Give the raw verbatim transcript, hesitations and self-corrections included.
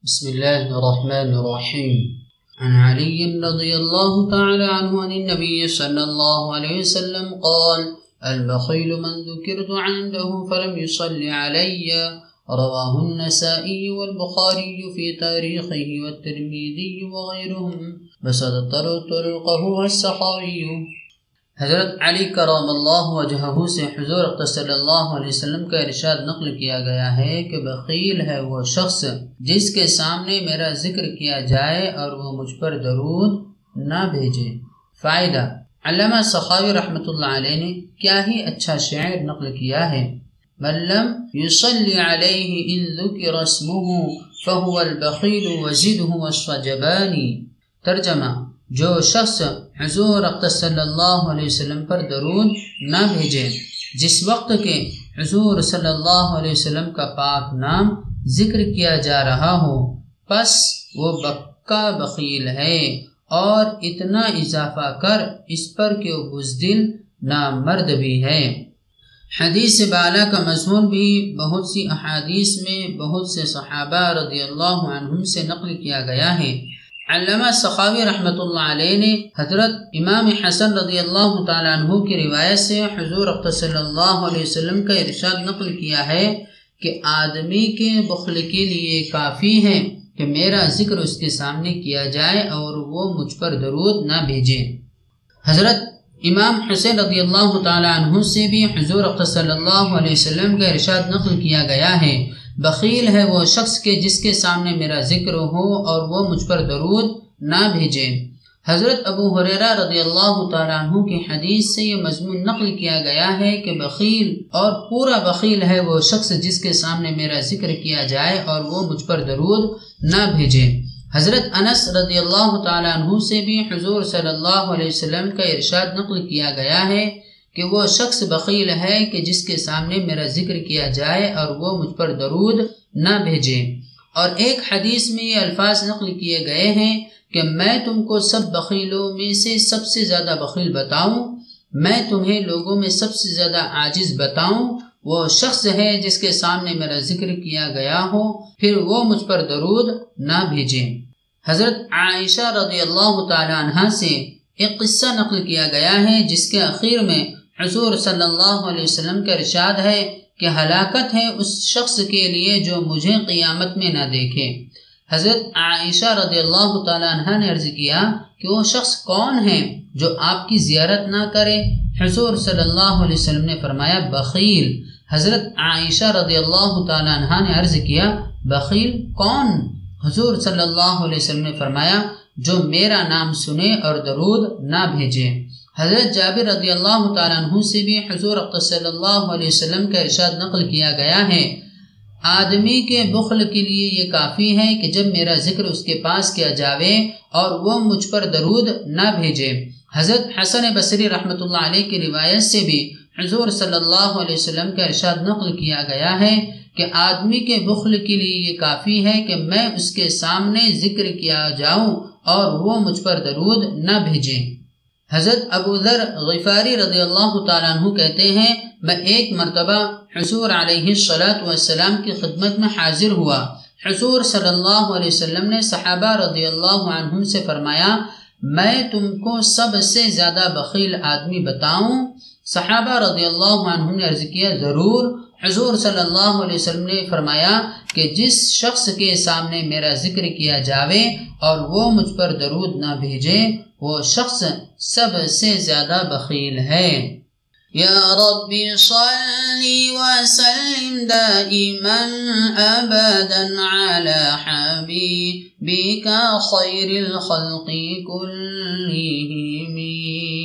بسم الله الرحمن الرحيم. عن علي رضي الله تعالى عنه عن النبي صلى الله عليه وسلم قال: البخيل من ذكرت عنده فلم يصل علي. رواه النسائي والبخاري في تاريخه والترمذي وغيرهم بسط طرقه السخاوي. حضرت علی کرم اللہ وجہہ سے حضور صلی اللہ علیہ وسلم کا ارشاد نقل کیا گیا ہے کہ بخیل ہے وہ شخص جس کے سامنے میرا ذکر کیا جائے اور وہ مجھ پر درود نہ بھیجے۔ فائدہ: علامہ سخاوی رحمۃ اللہ علیہ نے کیا ہی اچھا شعر نقل کیا ہے۔ من لم يصلي عليه إن ذكر اسمه فهو البخيل وزده والصجباني۔ ترجمہ: جو شخص حضور صلی اللہ علیہ وسلم پر درود نہ بھیجے جس وقت کے حضور صلی اللہ علیہ وسلم کا پاک نام ذکر کیا جا رہا ہو، پس وہ بکا بخیل ہے، اور اتنا اضافہ کر اس پر کہ وہ بزدل نامرد بھی ہے۔ حدیث بالا کا مضمون بھی بہت سی احادیث میں بہت سے صحابہ رضی اللہ عنہم سے نقل کیا گیا ہے۔ علامہ سخاوی رحمۃ اللہ علیہ نے حضرت امام حسن رضی اللہ تعالیٰ عنہ کی روایت سے حضور صلی اللہ علیہ وسلم کا ارشاد نقل کیا ہے کہ آدمی کے بخل کے لیے کافی ہے کہ میرا ذکر اس کے سامنے کیا جائے اور وہ مجھ پر درود نہ بھیجے۔ حضرت امام حسین رضی اللہ تعالیٰ عنہ سے بھی حضور صلی اللہ علیہ وسلم کا ارشاد نقل کیا گیا ہے: بخیل ہے وہ شخص کے جس کے سامنے میرا ذکر ہو اور وہ مجھ پر درود نہ بھیجے۔ حضرت ابو ہریرہ رضی اللہ تعالیٰ عنہ کی حدیث سے یہ مضمون نقل کیا گیا ہے کہ بخیل اور پورا بخیل ہے وہ شخص جس کے سامنے میرا ذکر کیا جائے اور وہ مجھ پر درود نہ بھیجے۔ حضرت انس رضی اللہ تعالیٰ عنہ سے بھی حضور صلی اللہ علیہ وسلم کا ارشاد نقل کیا گیا ہے کہ وہ شخص بخیل ہے کہ جس کے سامنے میرا ذکر کیا جائے اور وہ مجھ پر درود نہ بھیجے۔ اور ایک حدیث میں یہ الفاظ نقل کیے گئے ہیں کہ میں تم کو سب بخیلوں میں سے سب سے زیادہ بخیل بتاؤں، میں تمہیں لوگوں میں سب سے زیادہ عاجز بتاؤں۔ وہ شخص ہے جس کے سامنے میرا ذکر کیا گیا ہو پھر وہ مجھ پر درود نہ بھیجے۔ حضرت عائشہ رضی اللہ تعالی عنہا سے ایک قصہ نقل کیا گیا ہے جس کے اخیر میں حضور صلی اللہ علیہ وسلم کا ارشاد ہے کہ ہلاکت ہے اس شخص کے لیے جو مجھے قیامت میں نہ دیکھے۔ حضرت عائشہ رضی اللہ تعالی عنہا نے عرض کیا کہ وہ شخص کون ہے جو آپ کی زیارت نہ کرے؟ حضور صلی اللہ علیہ وسلم نے فرمایا: بخیل۔ حضرت عائشہ رضی اللہ تعالی عنہا نے عرض کیا: بخیل کون؟ حضور صلی اللہ علیہ وسلم نے فرمایا: جو میرا نام سنے اور درود نہ بھیجے۔ حضرت جابر رضی اللہ تعالیٰ عنہ سے بھی حضور صلی اللہ علیہ وسلم کا ارشاد نقل کیا گیا ہے: آدمی کے بخل کے لیے یہ کافی ہے کہ جب میرا ذکر اس کے پاس کیا جاوے اور وہ مجھ پر درود نہ بھیجے۔ حضرت حسن بصری رحمۃ اللہ علیہ کی روایت سے بھی حضور صلی اللہ علیہ وسلم کا ارشاد نقل کیا گیا ہے کہ آدمی کے بخل کے لیے یہ کافی ہے کہ میں اس کے سامنے ذکر کیا جاؤں اور وہ مجھ پر درود نہ بھیجے۔ حضرت ابو ذر غفاری رضی اللہ تعالیٰ عنہ کہتے ہیں: میں ایک مرتبہ حضور علیہ الصلاۃ والسلام کی خدمت میں حاضر ہوا۔ حضور صلی اللہ علیہ وسلم نے صحابہ رضی اللہ عنہم سے فرمایا: میں تم کو سب سے زیادہ بخیل آدمی بتاؤں؟ صحابہ رضی اللہ عنہم نے عرض کیا: ضرور۔ حضور صلی اللہ علیہ وسلم نے فرمایا کہ جس شخص کے سامنے میرا ذکر کیا جاوے اور وہ مجھ پر درود نہ بھیجے وہ شخص سب سے زیادہ بخیل ہے۔ یا ربی صلی وسلم دائما ابدا علی حبیبک خیر الخلق کلہم۔